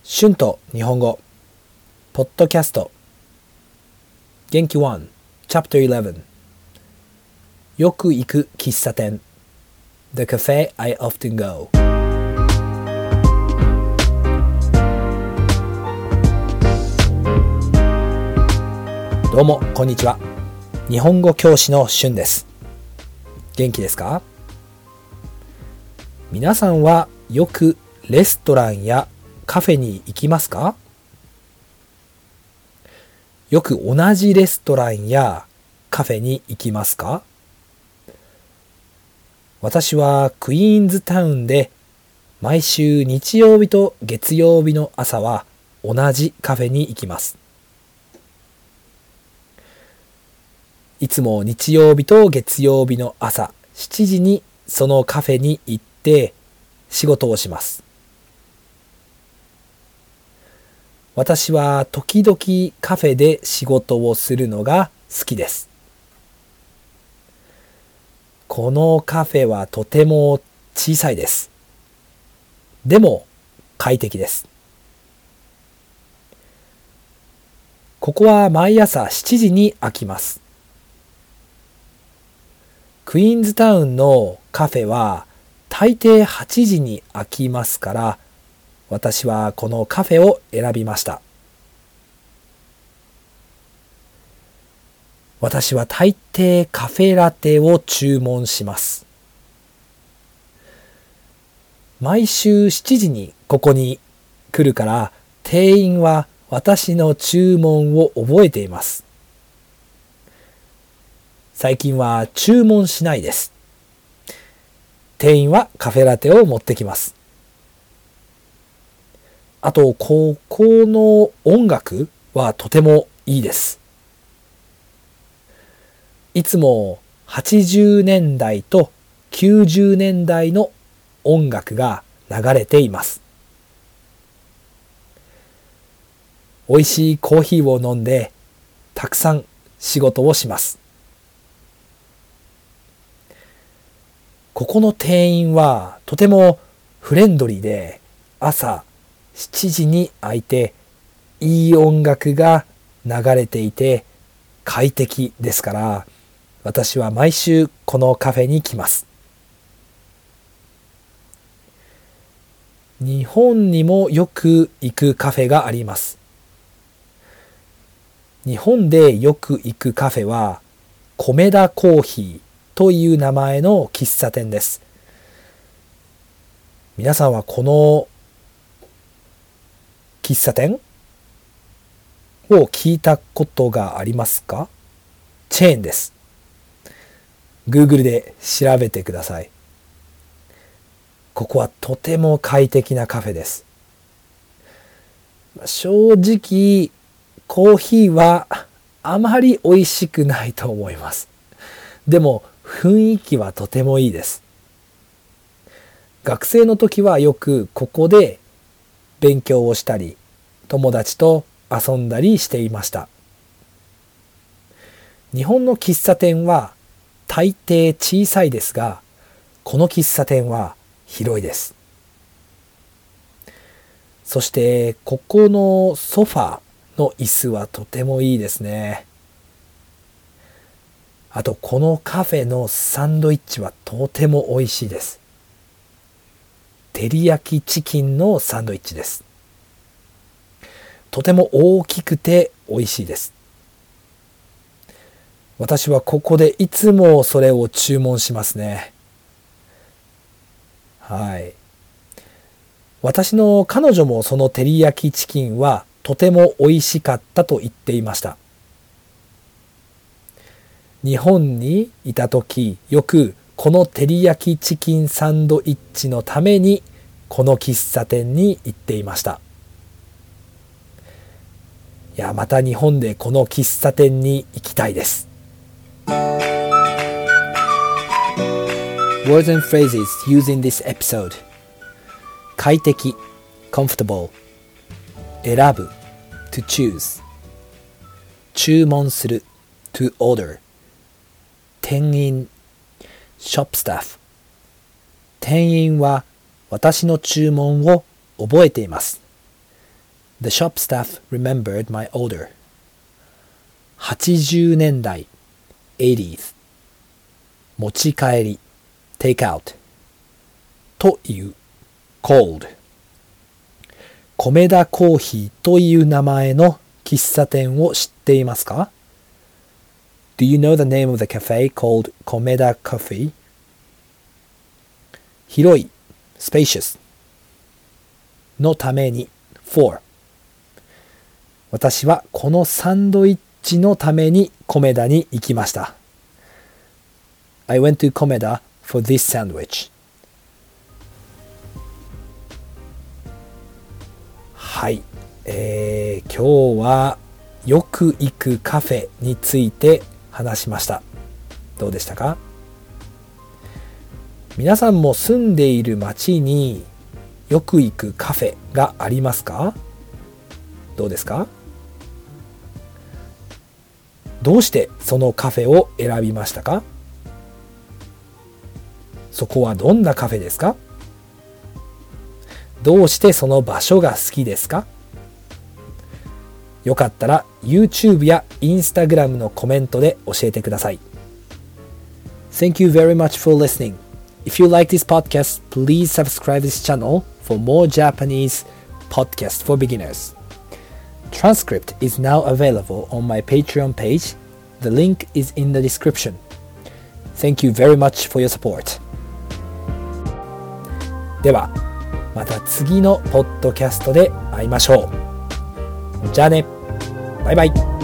春と日本語ポッドキャスト元気1 Chapter 11よく行く喫茶店 The cafe I often go。 どうもこんにちは。日本語教師の春です。元気ですか？皆さんはよくレストランやカフェに行きますか？よく同じレストランやカフェに行きますか？私はクイーンズタウンで毎週日曜日と月曜日の朝は同じカフェに行きます。いつも日曜日と月曜日の朝7時にそのカフェに行って仕事をします。私は時々カフェで仕事をするのが好きです。このカフェはとても小さいです。でも快適です。ここは毎朝7時に開きます。クイーンズタウンのカフェは大抵8時に開きますから、私はこのカフェを選びました。私は大抵カフェラテを注文します。毎週7時にここに来るから、店員は私の注文を覚えています。最近は注文しないです。店員はカフェラテを持ってきます。あと、ここの音楽はとてもいいです。いつも80年代と90年代の音楽が流れています。美味しいコーヒーを飲んでたくさん仕事をします。ここの店員はとてもフレンドリーで、朝7時に開いていい音楽が流れていて快適ですから、私は毎週このカフェに来ます。日本にもよく行くカフェがあります。日本でよく行くカフェはコメダコーヒーという名前の喫茶店です。皆さんはこの喫茶店を聞いたことがありますか？チェーンです。Google で調べてください。ここはとても快適なカフェです。正直、コーヒーはあまり美味しくないと思います。でも雰囲気はとてもいいです。学生の時はよくここで勉強をしたり、友達と遊んだりしていました。日本の喫茶店は大抵小さいですが、この喫茶店は広いです。そしてここのソファーの椅子はとてもいいですね。あとこのカフェのサンドイッチはとても美味しいです。照り焼きチキンのサンドイッチです。とても大きくて美味しいです。私はここでいつもそれを注文しますね。はい。私の彼女もその照り焼きチキンはとても美味しかったと言っていました。日本にいた時、よくこの照り焼きチキンサンドイッチのためにこの喫茶店に行っていました。いや、また日本でこの喫茶店に行きたいです。Words and phrases used in this episode: 快適 comfortable、 選ぶ to choose、 注文する to order、 店員 shop staff、 店員は私の注文を覚えています。 The shop staff remembered my order. 80年代 80s 持ち帰り take out という cold 米田コーヒーという名前の喫茶店を知っていますか？ Do you know the name of the cafe called Komeda Coffee? 広い spacious のために for 私はこのサンドイッチのためにコメダに行きました。I went to Komeda for this sandwich. はい、今日はよく行くカフェについて話しました。どうでしたか？皆さんも住んでいる町によく行くカフェがありますか？どうですか？どうしてそのカフェを選びましたか？そこはどんなカフェですか？どうしてその場所が好きですか？よかったら YouTube や Instagram のコメントで教えてください。Thank you very much for listening. If you like this podcast, please subscribe this channel for more Japanese podcasts for beginners. Transcript is now available on my Patreon page. The link is in the description. Thank you very much for your support. では、また次のポッドキャストで会いましょう。じゃあね。バイバイ。